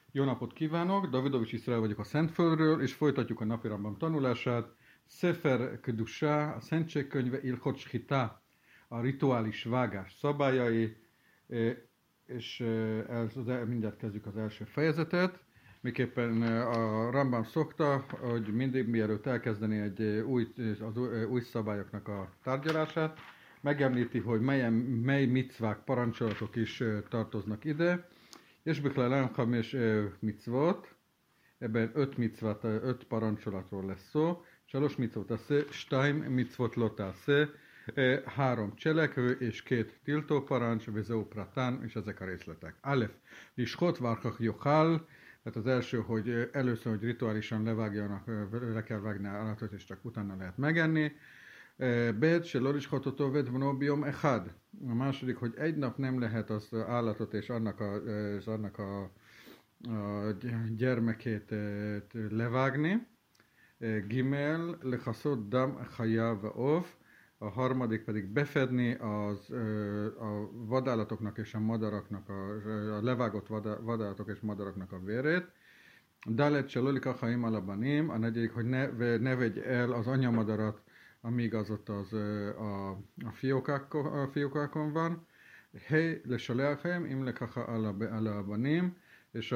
Jó napot kívánok! Davidovics Iszrael vagyok a Szentföldről, és folytatjuk a napi Rambam tanulását. Sefer Kedusha, a Szentségkönyve, Ilchot Shchita, a rituális vágás szabályai, és mindjárt kezdjük az első fejezetet. Miképpen a Rambam szokta, hogy mindig mielőtt elkezdeni az új szabályoknak a tárgyalását, megemlíti, hogy mely micvák, parancsolatok is tartoznak ide. És בכלל חמש מצוות, ebben 5 parancsolatról lesz szó, 3 מצוות תעשה, 2 מצוות לא תעשה, 3 cselekvő és 2 tiltó parancs, וזהו פרטן, és ezek a részletek. Alef, לשחוט ואחר כך יאכל, tehát az első, hogy először, hogy rituálisan le kell vágni állatot, és csak utána lehet megenni. Bet, שלא לשחוט אותו ואת בנו ביום אחד. A második, hogy egy nap nem lehet az állatot és annak a gyermekét levágni. Gimel, lechaszot dam chaya ve'of. A harmadik pedig befedni a vadállatoknak és a madaraknak, a levágott vadállatok és madaraknak a vérét. Dalet, שלא לקח חיים על הבנים. A negyedik, hogy ne vegy el az anyamadarat, amíg az ott a fiókákon van. Hely, לשלח הם, אם לקח על הבנים, és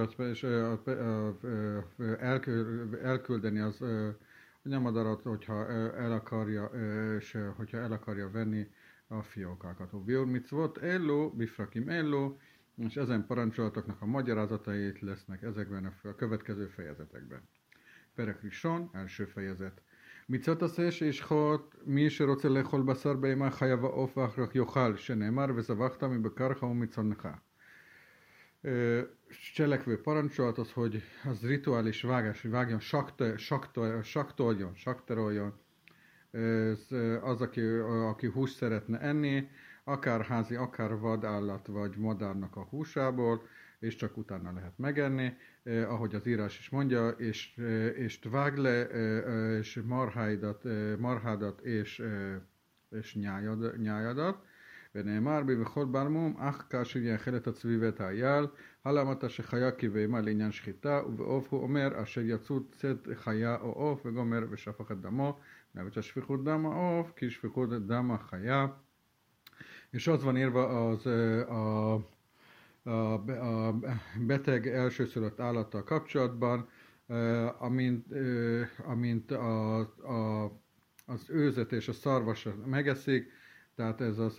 elküldeni az anyamadarat, hogyha el akarja venni a fiókákat. Biur mitzvot ello, bifrakim ello, és ezen parancsolatoknak a magyarázatait lesznek ezekben a következő fejezetekben. Perek Rishon, első fejezet. מצוות עשה שישחוט מי שרוצה לאכול בשר בהמה חיה ועוף ואחר כך יאכל, שנאמר וזבחת מבקרך ומצונך. Cselekvő parancsolat az, hogy az rituális vágás, hogy vágjon, saktoroljon, az, aki húst szeretne enni, akár házi, akár vadállat vagy madárnak a húsából, és csak utána lehet megenni, ahogy az írás is mondja, és vág le, és marhádat és nyájadat, ונאמר בכל ברמום, אך כאשר יאכל את הצבי ואת האייל, הלמת שחיה כבהמה לעניין שחיטה, ובעוף הוא אומר, אשר יצאו צאת חיה או עוף, וגומר ושפך את דמו, נאבד ששפיכות דם העוף, כי שפיכות דם החיה. És az van írva a beteg elsőszülött állattal kapcsolatban, amint az őzet és a szarvas megeszik, tehát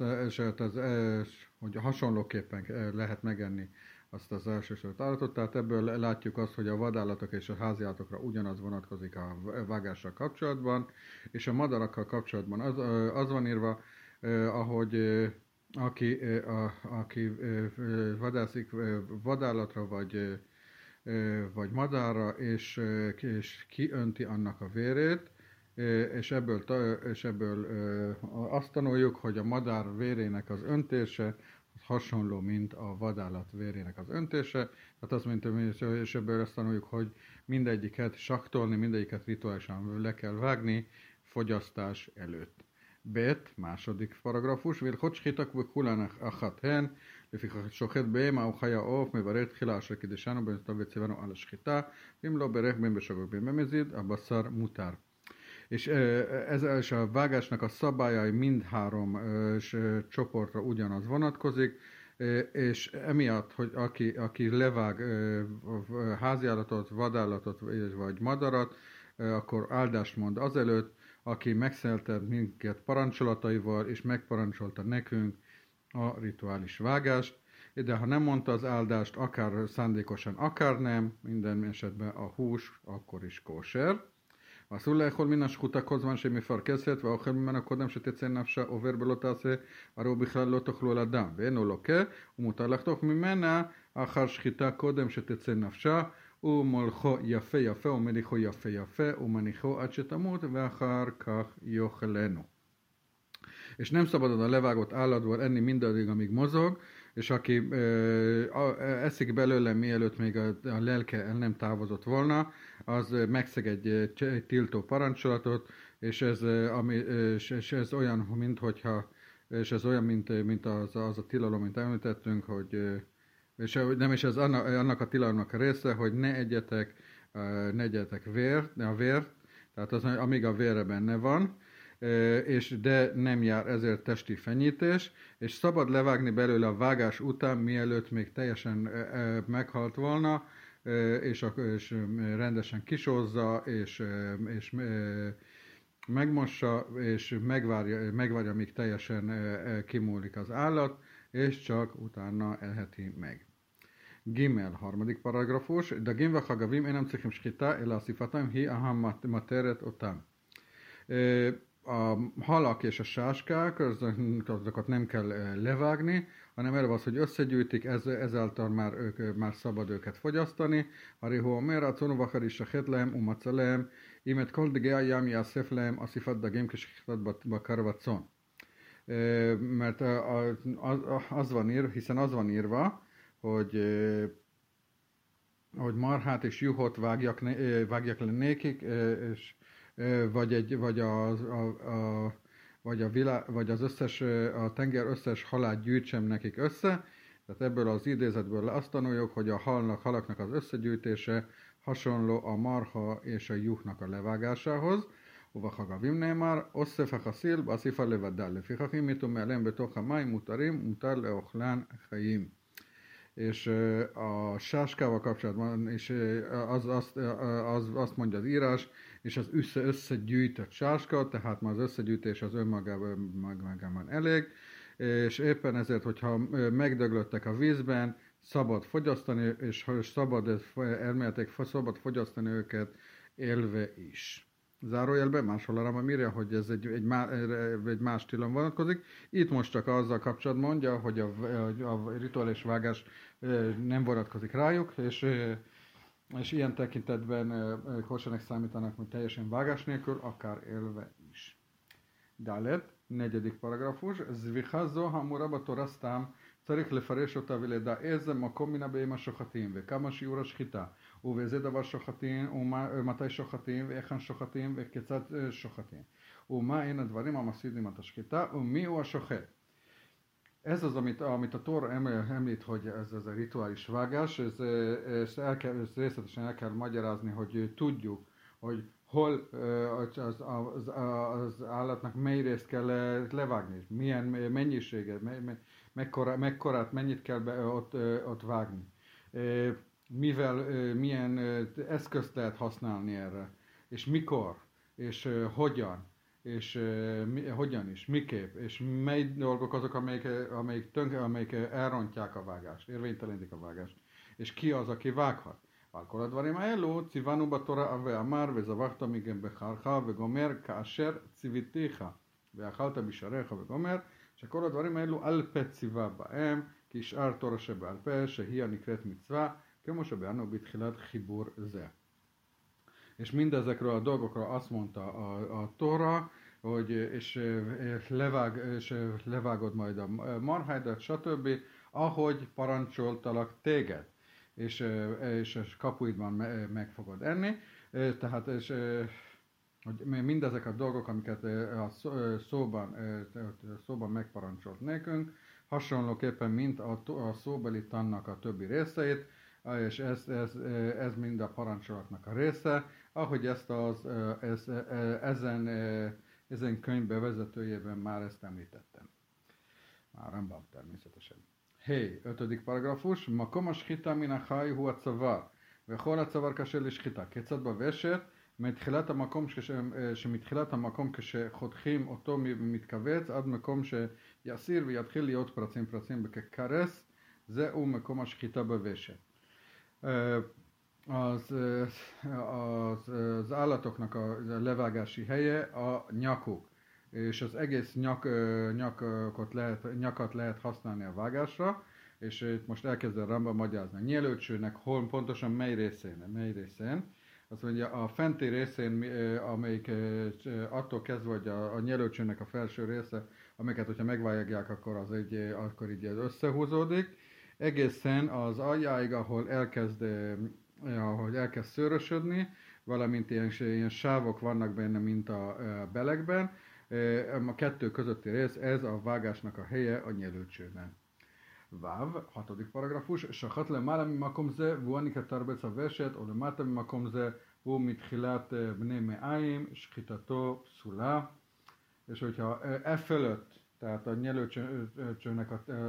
hogy hasonlóképpen lehet megenni azt az elsőszülött állatot, tehát ebből látjuk azt, hogy a vadállatok és a háziállatokra ugyanaz vonatkozik a vágással kapcsolatban, és a madarakkal kapcsolatban az van írva, ahogy aki vadászik vadállatra vagy madárra, és kiönti annak a vérét, és ebből azt tanuljuk, hogy a madár vérének az öntése az hasonló, mint a vadállat vérének az öntése. Tehát azt mondtam, és ebből azt tanuljuk, hogy mindegyiket saktolni, mindegyiket rituálisan le kell vágni fogyasztás előtt. ב' második paragrafus, והלכות שחיטה וכולן אחת הן, לפיכך שוחט בהמה או חיה עוף, מברר תחילה אשר קידשנו בנתיו וציוונו על השחיטה, ואם לא ברך בין בשוגג בין במזיד, הבשר מותר. És a vágásnak a szabályai mindhárom csoportra ugyanaz vonatkozik, és emiatt, hogy aki levág háziállatot, vadállatot vagy madarat, akkor áldást mond azelőtt, aki megszeltett minket parancsolataival, és megparancsolta nekünk a rituális vágást, de ha nem mondta az áldást, akár szándékosan, akár nem, minden esetben a hús akkor is kóser. אסור לאכול מן השחוטה כל זמן שהיא מפרכסת, והאוכל ממנה קודם שתצא נפשה עובר בלא תעשה, הרי הוא בכלל לא תאכלו על אדם, ואינו לוקה, ומותר לחתוך ממנה אחר שחיטה קודם שתצא נפשה, ומולכו יפה יפה, ומניחו יפה יפה, ומניחו עד שתמות, ואחר כך יאכלנו. És nem szabad a levágott állatból enni mindaddig, amíg mozog, és aki eszik belőle, mielőtt még a lelke el nem távozott volna, az megszeg egy tiltó parancsolatot, és ez olyan, mint az a tilalom, mint említettünk, És nem is ez annak a tilalomnak a része, hogy ne egyetek vért, tehát az, amíg a vére benne van, de nem jár ezért testi fenyítés, és szabad levágni belőle a vágás után, mielőtt még teljesen meghalt volna, és rendesen kisózza, és megmossa, és megvárja, míg teljesen kimúlik az állat, és csak utána elheti meg. Gimel, harmadik paragrafus, Dagim vachagavim enam צריכים שחיטה, אלא אסיפתם היא המטרת אותם. A halak és a sáskák, azokat nem kell levágni, hanem erre az, hogy összegyűjtik, ezáltal már szabad őket fogyasztani. Harihu omer, a cunuvachar is a hetlem, umacelem, imet kol degea jam jászeflem, asszifat dagim kishitat bakarvacon. Mert hiszen az van írva, hogy marhát és juhot vágjak le nékik, és vagy az összes, a tenger összes halát gyűjtsem nekik össze. Tehát ebből az idézetből azt tanuljuk, hogy a halaknak az összegyűjtése hasonló a marha és a juhnak a levágásához. ובחגבים נאמר, אוסף החסיל באסיפה לבדה, לפיכך אם יטומא עליהם בתוך המים מותרים, מותר לאוכלן חיים. És a sáskával kapcsolatban és azt mondja az írás, és az összegyűjtött sáska, tehát már az összegyűjtés az önmagában elég, és éppen ezért, hogyha megdöglöttek a vízben, szabad fogyasztani, és elméletek szabad fogyasztani őket élve is. Zárójelben máshol arra írja, hogy ez egy más tilalom vonatkozik. Itt most csak azzal kapcsolatban mondja, hogy a rituális vágás nem vonatkozik rájuk, és ilyen tekintetben koshernek számítanak, hogy teljesen vágás nélkül, akár élve is. Dalet, negyedik paragrafus. Zvicha zo hamura בתורה סתם, צריך לפרש אותה ולדעז מקום מן הבהמה השוחטים, וכמה שיעור השחיטה, ובאיזה דבר שוחטים, ומתי שוחטים, והיכן שוחטים, וכיצד שוחטים, ומה הן הדברים המפסידים את השחיטה, ומי הוא השוחט. Ez az, amit a Tóra említ, hogy ez a rituális vágás, ezt részletesen el kell magyarázni, hogy tudjuk, hogy hol az állatnak mely részt kell levágni, milyen mennyiséget, mekkorát, mennyit kell ott vágni. Milyen eszközt lehet használni erre, és mikor, és hogyan is, miképp, és mely dolgok azok, amelyik elrontják a vágást, érvénytelenítik a vágást, és ki az, aki vághat. ועל כל הדברים האלו ציוונו בתורה ואמר וזבחת מגם בחרך וגומר כאשר ציוויתיך ואכלת בשעריך וגומר, שכל הדברים האלו על פה ציווה בהם כשאר תורה שבעל פה שהיא הנקראת מצווה כמו שבאנו בתחילת חיבור זה. És mindezekről a dolgokról azt mondta a Tóra, hogy és levágod majd a marhádat, stb., ahogy parancsoltalak téged, és kapuidban meg fogod enni. Tehát hogy mindezek a dolgok, amiket a szóban megparancsolt nekünk, hasonlóképpen, mint a szóbeli tannak a többi részeit, és ez mind a parancsolatnak a része, ahogy ezen könyv bevezetőjében már ezt említettem. Már Rambam természetesen. Hey, 5. paragrafus. Makom השחיטה מן החי הוא הצוואר, וכל הצוואר קשה לשחיטה. כיצד בוושת? שמתחילת המקום כשחותכים אותו מתכווץ עד מקום שיסיר ויתחיל להיות פרצים בכקרס, זהו מקום השחיטה בוושת. Az állatoknak a levágási helye a nyakuk, és az egész nyakat lehet használni a vágásra, és itt most elkezd a Rambam magyarázni a nyelőcsőnek pontosan mely részén. Azt mondja, a fenti részén, amelyik attól kezdve, hogy a nyelőcsőnek a felső része, amiket, hogyha megvágják, akkor így összehúzódik, egészen az aljáig, ahol elkezd szőrösödni, valamint ilyen sávok vannak benne, mint a belegben. A kettő közötti rész, ez a vágásnak a helye a nyelőcsőben. Váv, 6. paragrafus, sachat למעלה ממקום זה, והוא הנקטר בץ הוושת, או למטה ממקום זה, הוא מתחילת בני מעיים, שחיטתו פסולה. És hogyha e fölött, tehát a nyelőcsőnek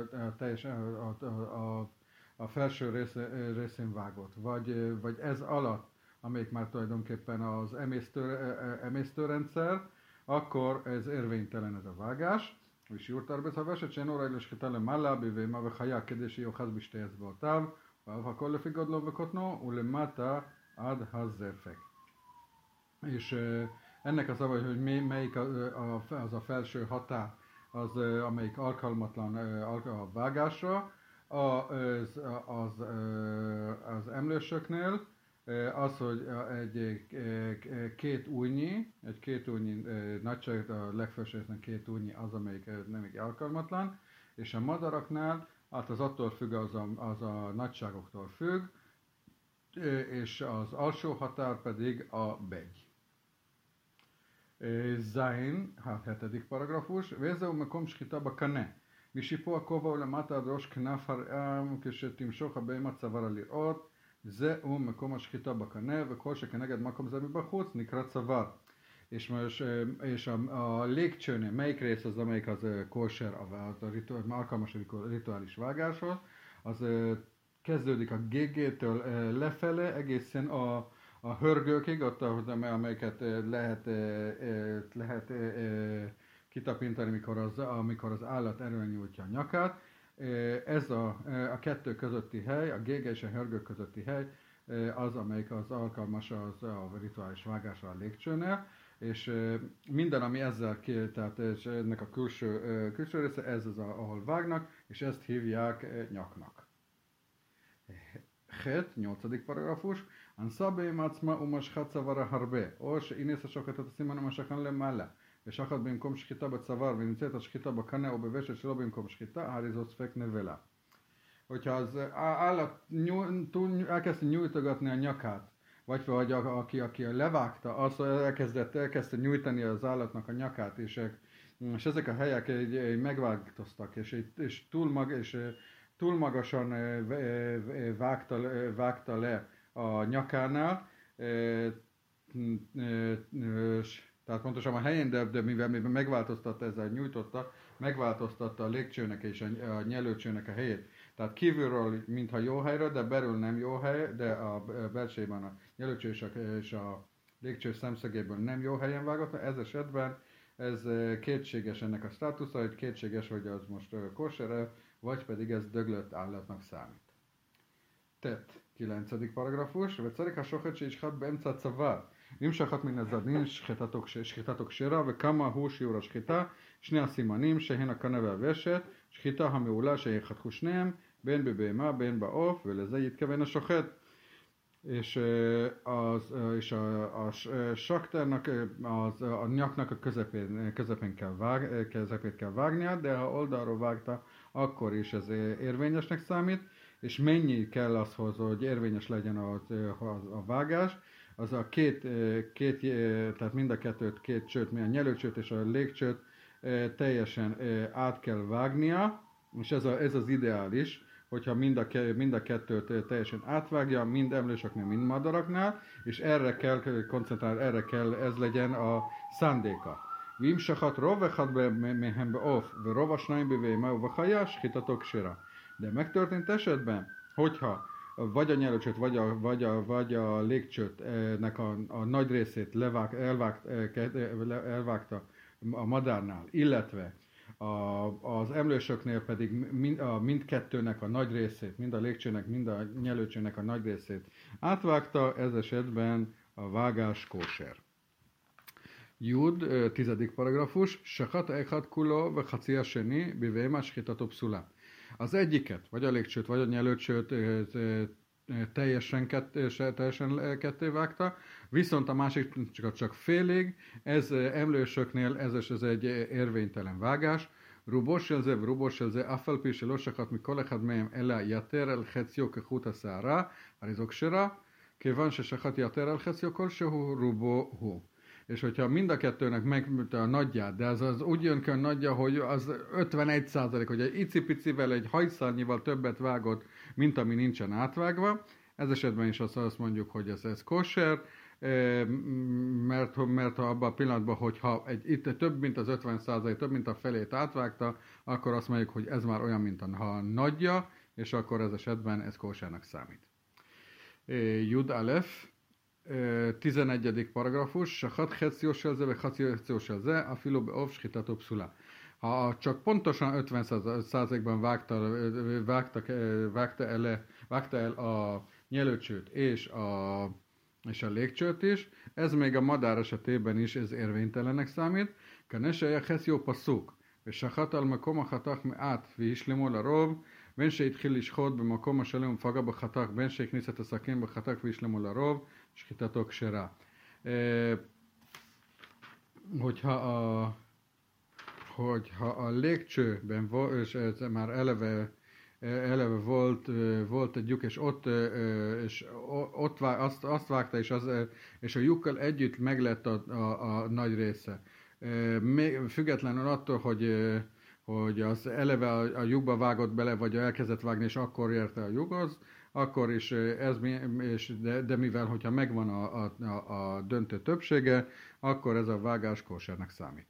a felső részén vágott, vagy ez alatt, amelyik már tulajdonképpen az emésztőrendszer, akkor ez érvénytelen ez a vágás. És jurtar beszavását, שאין אולי לשחיטה למעלה בבהמה וחיה כדי שיאחז בשתי אצבעותיו, ואף הכל לפי גודלו וקוטנו, ולמטה עד הזפק. És ennek a szava, hogy melyik az a felső határ, az, amelyik alkalmatlan a vágásra, az emlősöknél, az, hogy egy két újnyi nagyság, a legfelső résznek 2 újnyi az, amelyik nem alkalmatlan, és a madaraknál, hát az attól függ, az a nagyságoktól függ, és az alsó határ pedig a begy. זין, 7. paragrafus, וזהו מקום שחיטה בקנה, משיפוע הכובע ולמטה עד ראש כנף הרעם, כשתמשוך הבהמה צווארה לראות, זהו מקום השחיטה בקנה, וכל שכנגד מקום זה מבחוץ נקרא צוואר. És a légcsőnél melyik rész az, amelyik az kóser, alkalmas a rituális vágáshoz, az kezdődik a GG-től lefele, egészen a hörgőkig, ott, amelyeket lehet kitapintani, amikor az állat erően nyújtja a nyakát. Ez a kettő közötti hely, a gége és a hörgők közötti hely, az, amelyik az alkalmas az a rituális vágásra a légcsőnél, és minden, ami ezzel tehát ennek a külső része, ez az, ahol vágnak, és ezt hívják nyaknak. 8. paragrafus, אנסה בהמה עצמה ומשכה צווארה הרבה, או שאינס השוחט את הסימן ומשכן למעלה, ושחט במקום שחיטה בצוואר ונמצאת השחיטה בקנה או בוושט שלא במקום שחיטה, הרי זו ספק נבלה. Hogyha az állat elkezdte nyújtogatni a nyakát, vagy aki levágta, az elkezdte nyújtani az állatnak a nyakát, és ezek a helyek megváltoztak, és túl magasan vágta le a nyakánál, tehát pontosan a helyén, de mivel megváltoztatta ezzel nyújtotta, megváltoztatta a légcsőnek és a nyelőcsőnek a helyét. Tehát kívülről mintha jó helyre, de belül nem jó hely, de a belsejében a nyelőcső és a légcső szemszögéből nem jó helyen vágott. Ez esetben ez kétséges ennek a státusza, hogy kétséges, hogy az most kosher, vagy pedig ez döglött állatnak számít. תת, 9. paragrafus, וצריך השוחט שישחט באמצע הצוואר. אם שחט מן הזדין שחיטתו כשרה, וכמה הוא שיעור השחיטה, שני הסימנים שהן הקנה והוושת, שחיטה המעולה שיחתכו שניהם, בין בבהמה בין בעוף, ולזה יתכוון השוחט. És a sakternak, a nyaknak a közepén kell vágnia, de ha oldalról vágta, akkor is ez érvényesnek számít, és mennyi kell ahhoz, hogy érvényes legyen a vágás, az a tehát mind a két csőt, a nyelőcsőt és a légcsőt teljesen át kell vágnia, és ez az ideális, hogyha mind a kettőt teljesen átvágja, mind emlősöknél, mind madaraknál, és erre kell koncentrálni, ez legyen a szándéka. ואם שחט רוב אחד מהם בעוף ורוב השניים בבהמה ובחיה, שחיטתו כשרה. De megtörtént esetben, hogyha vagy a nyelőcsőt, vagy a légcsőtnek a nagy részét elvágta a madárnál, illetve az emlősöknél pedig mindkettőnek a nagy részét, mind a légcsőnek, mind a nyelőcsőnek a nagy részét átvágta, ez esetben a vágás kóser. Jud, 10. paragrafus, שחט אחד כולו וחצי השני בבהמה שחיטתו פסולה. Az egyiket, vagy a légcsőt, vagy a nyelőcsőt teljesen ketté vágta, viszont a másikat csak félig, ez emlősöknél ez egy érvénytelen vágás. רובו של זה, אף על פי שלא שחט מכל אחד מהם, אלא יתר על חציו כחוט השערה, הרי זו כשרה, כיוון ששחט יתר על חציו כלשהו, רובו הוא. és hogyha mind a kettőnek meg a nagyját, de az úgy jön ki a nagyja, hogy az 51%, hogy egy icipicivel, egy hajszárnyival többet vágott, mint ami nincsen átvágva, ez esetben is azt mondjuk, hogy ez kosher, mert ha abban a pillanatban, hogyha itt több mint az 50%, több mint a felét átvágta, akkor azt mondjuk, hogy ez már olyan, mint a nagyja, és akkor ez esetben ez koshernak számít. Jud Alef, 11. paragrafus, Sachat chetzió selze, ve chetzió selze, a filó beov shchitató pszula. Ha csak pontosan 50%-ban vágta el a nyelőcsőt és a légcsőt is, ez még a madár esetében is ez érvénytelenek számít. Kaneseje chetzió passzuk, és Sachat al makom achatach meát, vi islemol a rov, בין שהתחיל לשחוט במקום השלם ופגע בחתך, בין שהכניס את הסכין בחתך והשלמו לרוב, שחיטתו כשרה. Hogyha a légcsőben és ez már eleve volt egy lyuk, és ott azt vágta, és a lyukkal együtt meglett a nagy része. Függetlenül attól, hogy az eleve a lyukba vágott bele, vagy elkezdett vágni, és akkor érte a lyukhoz, akkor is de mivel, hogyha megvan a döntő többsége, akkor ez a vágás kósernek számít.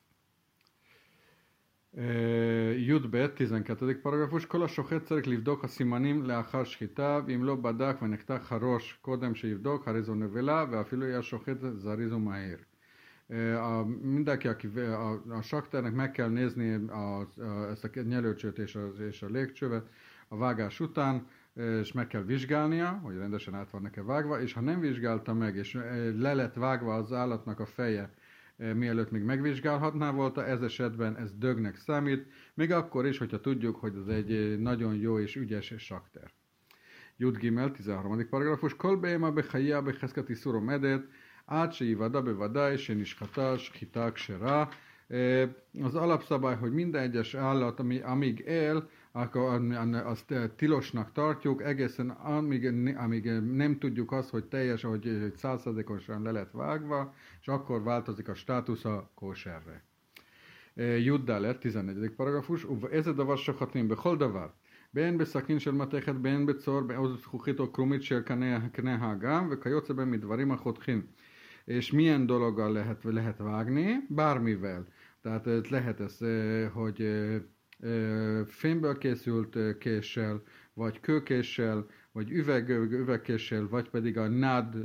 Judbet, 12. paragrafus, כל השוחט צריך לבדוק הסימנים לאחר שחיטה, ואם לא בדק ונחתך הראש קודם שיבדוק, הרי זו נבלה, ואפילו יהיה שוחט זריז ומהיר. Mindenki, aki a sakternek meg kell nézni ezt a nyelőcsőt és a légcsövet a vágás után, és meg kell vizsgálnia, hogy rendesen át van-e vágva, és ha nem vizsgálta meg, és le lett vágva az állatnak a feje, mielőtt még megvizsgálhatná volna, ez esetben ez dögnek számít, még akkor is, hogyha tudjuk, hogy ez egy nagyon jó és ügyes sakter. Jud Gimel, 13. paragrafus, Kol be'ema bechaya becheszket iszur omedet, עד שיוודע בוודאי שנשחטה שחיטה כשרה. Az alapszabály, hogy minden egyes állat, amíg él, akkor azt tilosnak tartjuk, egészen amíg nem tudjuk azt, hogy teljes, hogy 100%-osan le lett vágva, és akkor változik a státusza kóserre. Juddá lett, 14. paragrafus, ez a davar sokhatnim bechol davar. בין בסכין של מתכת, בין בצור, בעוז זכוכית או קרומית של קנה האגם, וכיוצא בין מדברים החותכים. És milyen dologgal lehet vágni? Bármivel. Tehát lehet ez, hogy fémből készült késsel, vagy kőkéssel, vagy üvegkéssel, vagy pedig a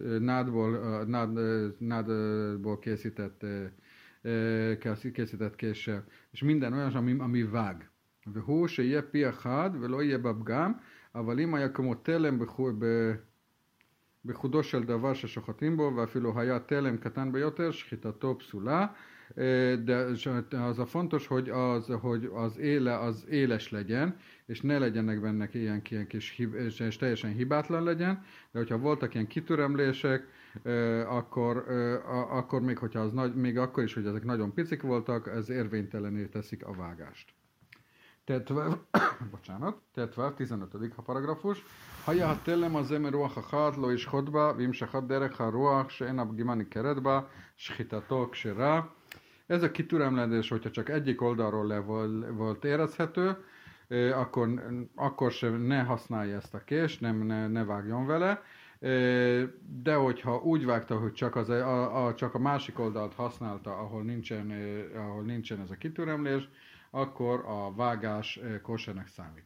nádból készített késsel. És minden olyan, ami vág. והוא שיהיה פי אחד ולא יהיה בפגם, אבל אם היה כמו תלם בחודו של דבר ששוחטים בו, ואפילו היה תלם קטן ביותר, שחיטתו פסולה. De az a fontos, hogy az éle az éles legyen, és ne legyenek benne ilyen kis és teljesen hibátlan legyen, de hogyha voltak ilyen kitüremlések, akkor még hogyha az még akkor is, hogy ezek nagyon picik voltak, ez érvénytelené teszik a vágást. Tetváv, 15. paragrafus. היה התלם הזה מרוח אחת לא ישחוט בה, ואם שחט דרך הרוח שאין הפגימה ניכרת בה, שחיטתו כשרה. Ez a kitüremlés, hogyha csak egyik oldalról volt érezhető, akkor sem ne használja ezt a kést, ne vágjon vele, de hogyha úgy vágta, hogy csak a másik oldalt használta, ahol nincsen ez a kitüremlés, akkor a vágás kósernek számít.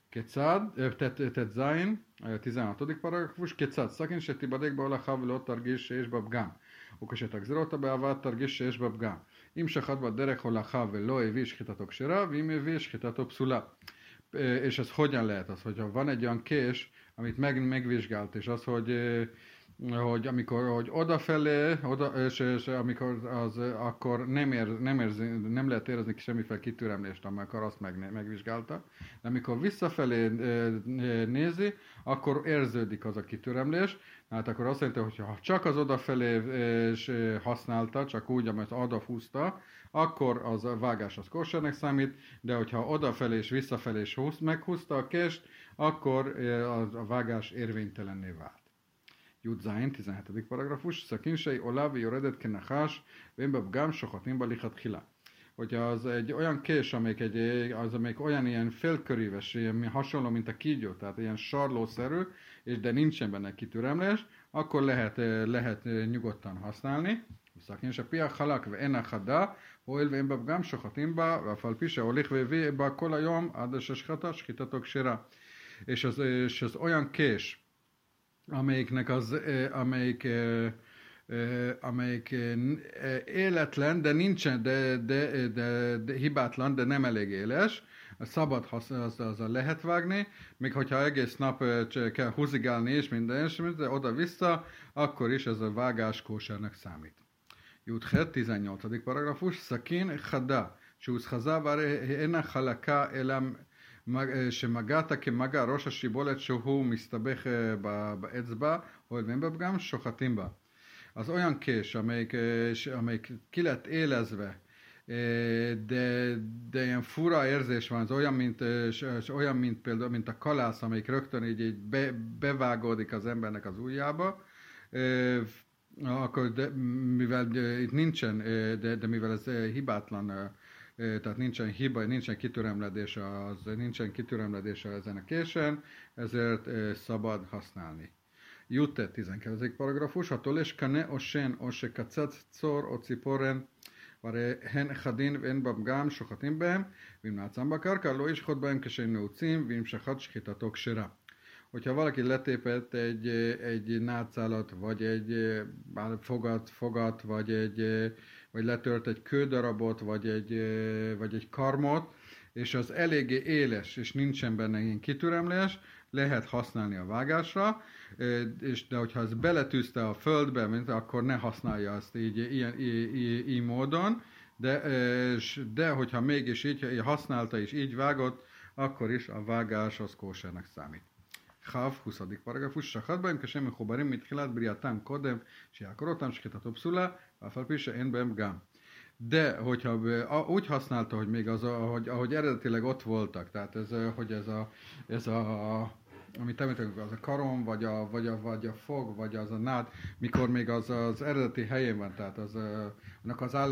Tetzain, 16. paragrafus, kétszád szakén se tibadék be olacha ולא תרגיש שיש בה פגם, וכשתגזיר אותה בעבר תרגיש שיש בה פגם. אם שחט בדרך הולכה ולא הביא שחיטתו כשרה, ואם הביא שחיטתו פסולה. És ez hogyan lehet az, hogyha van egy olyan kés, amit megvizsgált, és az, hogy amikor odafelé, és amikor akkor nem lehet érezni semmiféle kitüremlést, amikor azt megvizsgálta, de amikor visszafelé nézi, akkor érződik az a kitüremlés, hát akkor azt jelenti, hogy ha csak az odafelé használta, csak úgy, amit odafúzta, akkor az a vágás az kósernek számít, de hogyha odafelé és visszafelé meghúzta a kést, akkor a vágás érvénytelenné vált. Jud Zain, 17. paragrafus, szakinsei olá, jöredet kenachás, vénbe bgám, sohatin balichat hila. Hogyha az egy olyan kés, amelyik olyan ilyen félköríves, ilyen hasonló, mint a kígyó, tehát ilyen sarlószerű, és de nincsen benne kitüremlés, akkor lehet nyugodtan használni. Szakin se piach halak ve ena hada, hoil ve emba bgám sohatin ba, ve fal pise olich ve ve ba kol a jom, ad se shchata, shchitatok sera. És az olyan kés, amelyik életlen, de nincsen, de hibátlan, de nem elég éles, szabad azzal lehet vágni, még hogyha egész nap kell húzigálni és minden, de oda-vissza, akkor is ez a vágás kósernek számít. Juthet, 18. paragrafus, szakin chada, שהוסחזה והרי אינה חלקה אלא שמגעת כמגע ראש השיבולת שהוא מסתבך באצבע, הואיל ואין בה פגם, שוחטים בה. Az olyan kés, amelyik ki lett élezve, de ilyen fura érzés van, az olyan, mint például, mint a kalász, amelyik rögtön így bevágódik az embernek az ujjába, akkor mivel itt nincsen, de mivel ez hibátlan, tehát nincsen hiba, nincsen kitüremledése ezen a késen, ezért szabad használni. Jutte 12. paragrafus, התולה קנה או שן או שקצץ צור או ציפורן, והרי הן חדין ואין בה פגם, שוחטים בהם, ואם נעצם בקרקע לא ישחוט בהם כשהם נעוצים, ואם שחט שחיטתו כשרה. Hogyha valaki letépett egy nátszálat, vagy egy fogat, vagy letört egy kődarabot, vagy egy karmot, és az eléggé éles, és nincsen benne ilyen kitüremlés, lehet használni a vágásra, de hogyha ez beletűzte a földbe, akkor ne használja azt így módon, de hogyha mégis így használta és így vágott, akkor is a vágás az kósernek számít. חב, 20. פרגפוס, שחט בהם כשהם מחוברים מתחילת בריאתם קודם, שיעקור אותם שחיטתו פסולה, ואף על פי שאין בהם פגם. De, hogyha úgy használta, hogy még ahogy eredetileg ott voltak, tehát amit említettünk, az a karom, vagy a fog, vagy az a nád, mikor még az eredeti helyén van, tehát annak az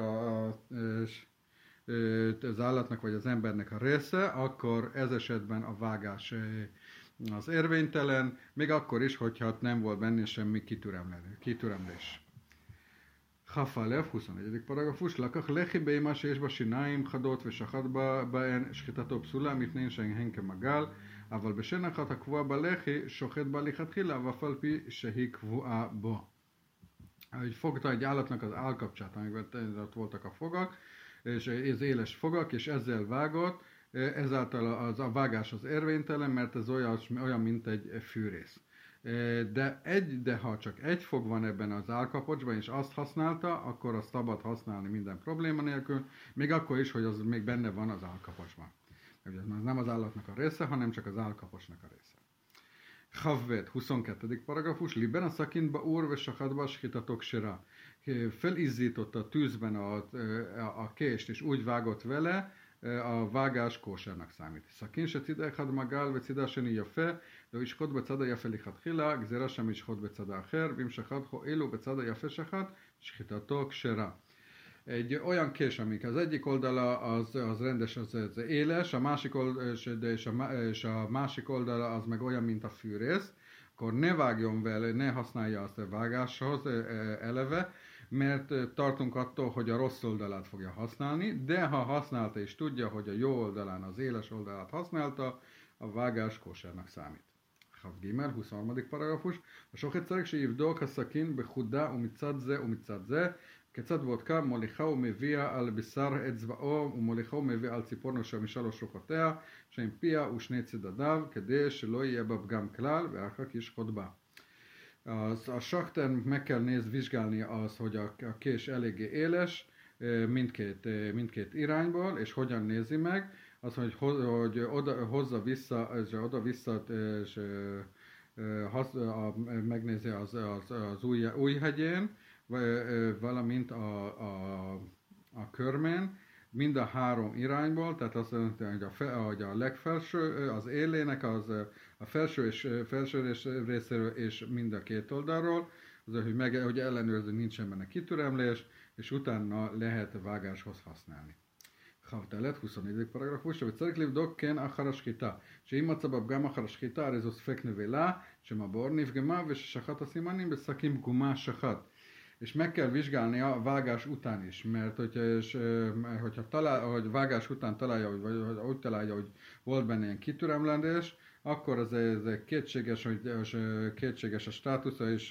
állatnak vagy az embernek a része, akkor ez esetben a vágás az érvénytelen, még akkor is, hogyha nem volt benne semmi kitüremlés. חפ"א, 21. פרגפוס, לקח לחי בהמה שיש בה שיניים חדות ושחט בהן, שחיטתו פסולה מפני שהן כמגל, אבל בשן אחת הקבועה בלחי שוחט בה לכתחילה, ואף על פי שהיא קבועה bó. Ahogy fogta egy állatnak az állkapcsát, amiben ott voltak a fogak, és ez éles fogak, és ezzel vágott, ezáltal a vágás az érvénytelen, mert ez olyan mint egy fűrész. De ha csak egy fog van ebben az állkapocsban, és azt használta, akkor azt szabad használni minden probléma nélkül, még akkor is, hogy az még benne van az állkapocsban. Ez nem az állatnak a része, hanem csak az állkapocsnak a része. Chavvet, 22. paragrafus, liben a szakintba úr ve sakadba shchitatok sera. Felizzította a tűzben a kést, és úgy vágott vele, a vágás kósernak számít. סכין שצידה אחד מגל וצידה השני יפה, לא ישחוט בצד היפה לכתחילה, גזירה שם ישחוט בצד האחר, ואם שחט הואיל בצד היפה שחט, שחיטתו כשרה. Egy olyan kés, amik az egyik oldala az rendes, az éles, és a másik oldala az meg olyan, mint a fűrész, akkor ne vágjon vele, ne használja azt a vágáshoz eleve, mert tartunk attól, hogy a rossz oldalát fogja használni, de ha használta és tudja, hogy a jó oldalán az éles oldalát használta, a vágás kósernak számít. Chav Gimel, 23. paragrafus. A sochet צריך שיבדוק הסכין בחודה ומצד זה ומצד זה, כיצד בודקה מוליכה ומביאה על בשר אצבעו ומוליכה ומביאה על ציפורנו משלוש שוחותיה, שהם פיה ושני צדדיו, כדי שלא יהיה בה פגם כלל, ואחר כך ישחוט בה. A sakten meg kell vizsgálni az, hogy a kés eléggé éles mindkét irányból, és hogyan nézi meg, az, hogy hozza vissza, és megnézi az újhegyén, valamint a körmén, mind a három irányból, tehát azt jelenti, hogy a legfelső, az élének, a felső és felső részéről, és mind a két oldalról, az, hogy ellenőrző, nincsen benne kitüremlés, és utána lehet vágáshoz használni. חבטלת, חוסוני פרגרפוש, וצריך לבדוק כן אחר השחיטה, שאם מצא בפגם אחר השחיטה, הרי זו ספק נבלה, שמבעור נפגמה וששחט הסימנים בשקים פגומה שחט. És meg kell vizsgálni a vágás után is, mert hogy vágás után találja, vagy úgy találja, hogy volt benne ilyen kitüremlendés, akkor ez kétséges a státusza, és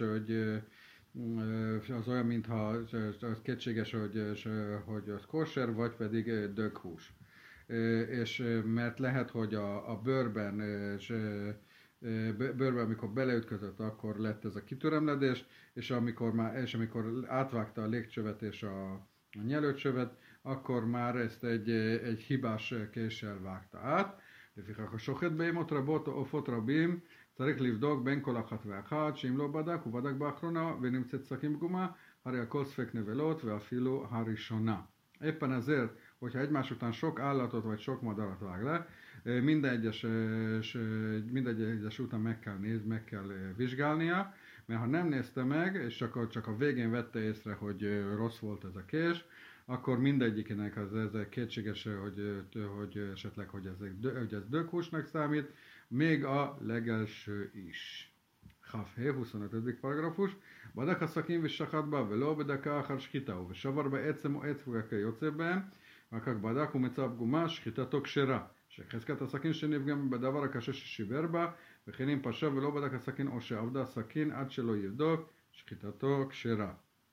az olyan, mintha az kétséges, hogy az kóser, vagy pedig döghús. És mert lehet, hogy a bőrben, amikor beleütközött, akkor lett ez a kitüremledés, és amikor átvágta a légcsövet és a nyelőcsövet, akkor már ezt egy hibás késsel vágta át. לפיכך השוחט בהמות רבות או עופות רבים צריך לבדוק בין כל אחת ואחת, שאם לא בדק, הוא בדק באחרונה ונמצאת שקים פגומה, הרי הכל ספק נבלות ואפילו הראשונה. Éppen ezért, hogyha egymás után sok állatot vagy sok madarat vág le, minden egyes után meg kell vizsgálnia, mert ha nem nézte meg, és csak a végén vette észre, hogy rossz volt ez a kés, akkor mindegyikének ez kétséges, hogy esetleg hogy ez döghúsnak számít, még a legelső is. כ"ה, 25. פרגרפוש, בדק הסכין ושחט בה ולא בדקה אחר שחיטה, ושבר בעצם או עץ וכיוצא בהם, רק בדק ומצא פגומה, שחיטתו כשרה, שחזקת הסכין שנפגם בדבר הקשה ששיבר בה, וכן אם פשע ולא בדק הסכין או שעבדה הסכין עד שלא יבדוק, שחיטתו כשרה.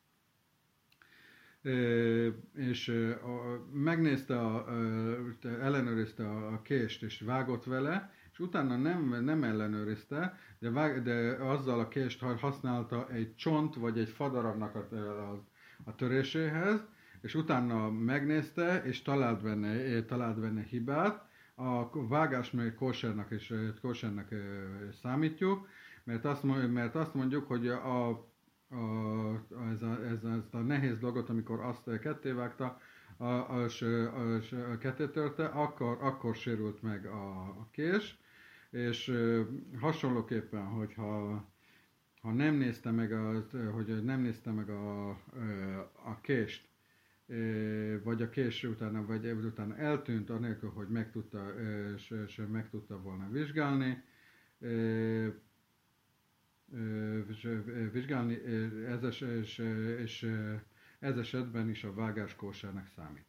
És megnézte, ellenőrizte a kést és vágott vele, és utána nem ellenőrizte, de azzal a kést használta egy csont vagy egy fadarabnak a töréséhez, és utána megnézte, és talált benne hibát. A vágást még kósernek számítjuk, mert azt mondjuk, hogy ez a nehéz dolgot, amikor azt ketté vágta, ketté törte, akkor sérült meg a kés, és hasonlóképpen, hogyha nem nézte meg a kést, vagy a kés utána eltűnt, anélkül, hogy meg tudta volna vizsgálni, és ez esetben is a vágás kósernek számít.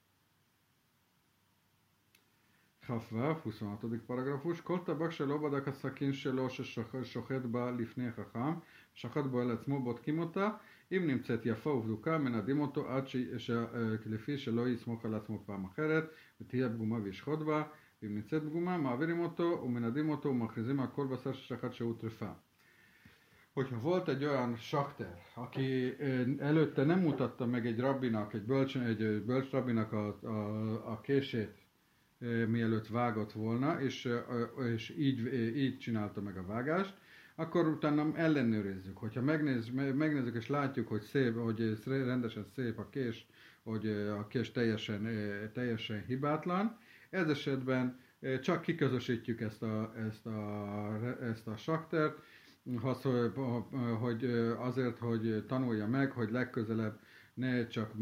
כ"ו, 26. פרגרפוש, כל טבק שלא בדק הסכין שלו ששוחט בה לפני חכם, שחט בו על עצמו, בודקים אותה, אם נמצאת יפה ובדוקה, מנדים אותו עד לפי שלא יסמוך על עצמו פעם אחרת, ותהיה פגומה וישחוט בה, אם נמצאת פגומה, מעבירים אותו ומנדים אותו ומכריזים על כל בשר ששחט שהוא טרפה. Hogyha volt egy olyan sakter, aki előtte nem mutatta meg egy bölcs rabbinak a kését, mielőtt vágott volna, és így csinálta meg a vágást, akkor utána ellenőrizzük. Hogyha megnézzük és látjuk, hogy szép, hogy rendesen szép a kés, hogy a kés teljesen hibátlan, ez esetben csak kiközösítjük ezt a saktert, hogy azért, hogy tanulja meg, hogy legközelebb ne csak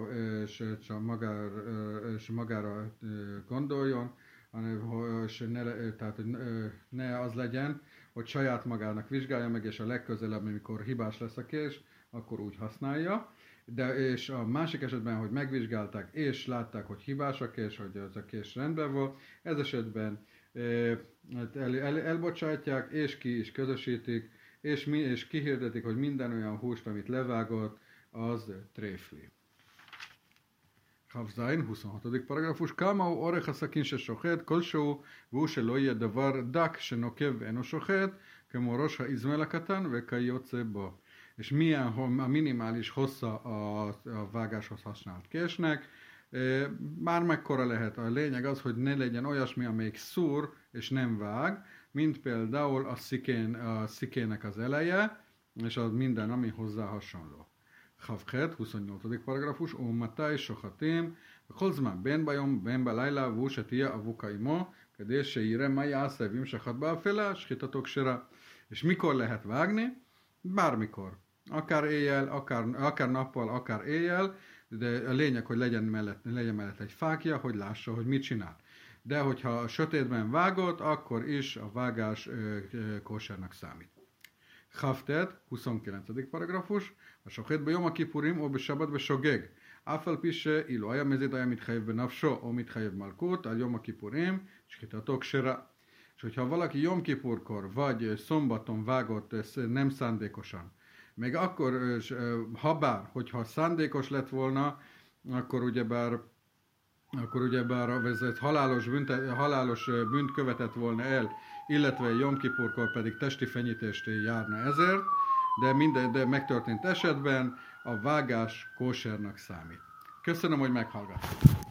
magára gondoljon, tehát hogy ne az legyen, hogy saját magának vizsgálja meg, és a legközelebb, amikor hibás lesz a kés, akkor úgy használja. És a másik esetben, hogy megvizsgálták, és látták, hogy hibás a kés, hogy az a kés rendben volt, ez esetben elbocsátják, és ki is közösítik, és kihirdetik, hogy minden olyan húst, amit levágott, az tréfli. כ"ז, 26. פרגרפוש, כמה הוא אורך הסכין ששוחט כלשהו, והוא שלא יהיה דבר דק שנוקב ואינו שוחט, כמו ראש האזמל הקטן וכיוצא בו. És milyen a minimális hossza a vágáshoz használt késnek, már mekkora lehet. A lényeg az, hogy ne legyen olyasmi, amelyik szúr és nem vág, mint például a szikének az eleje, és az minden, ami hozzá hasonló. Chavchet, 28. paragrafus, Matai Sochatim, Kolzman Ben Bajom, Ben Balayla, Vusatia, Avukaimo, Kedése Ire, Maja, Szevim, Sachatba, Fela, Skitatok Sera. És mikor lehet vágni? Bármikor. Akár éjjel, akár nappal, akár éjjel, de a lényeg, hogy legyen mellett egy fákja, hogy lássa, hogy mit csinál. De hogyha a sötétben vágott, akkor is a vágás kósernak számít. Chavtet, 29. paragrafus, a sochet be Yom HaKippurim, o be Shabbat be Shogeg. אף על פי שאילו היה מזיד היה מתחייב בנפשו או מתחייב מלכות, על יום הכיפורים שחיטתו כשרה. És hogyha valaki Jom Kippurkor vagy szombaton vágott nem szándékosan, meg akkor, habár, hogyha szándékos lett volna, akkor ugyebár ez egy halálos bűnt követett volna el, illetve Jom Kippurkor pedig testi fenyítést járna ezért, de megtörtént esetben a vágás kósernak számít. Köszönöm, hogy meghallgattak.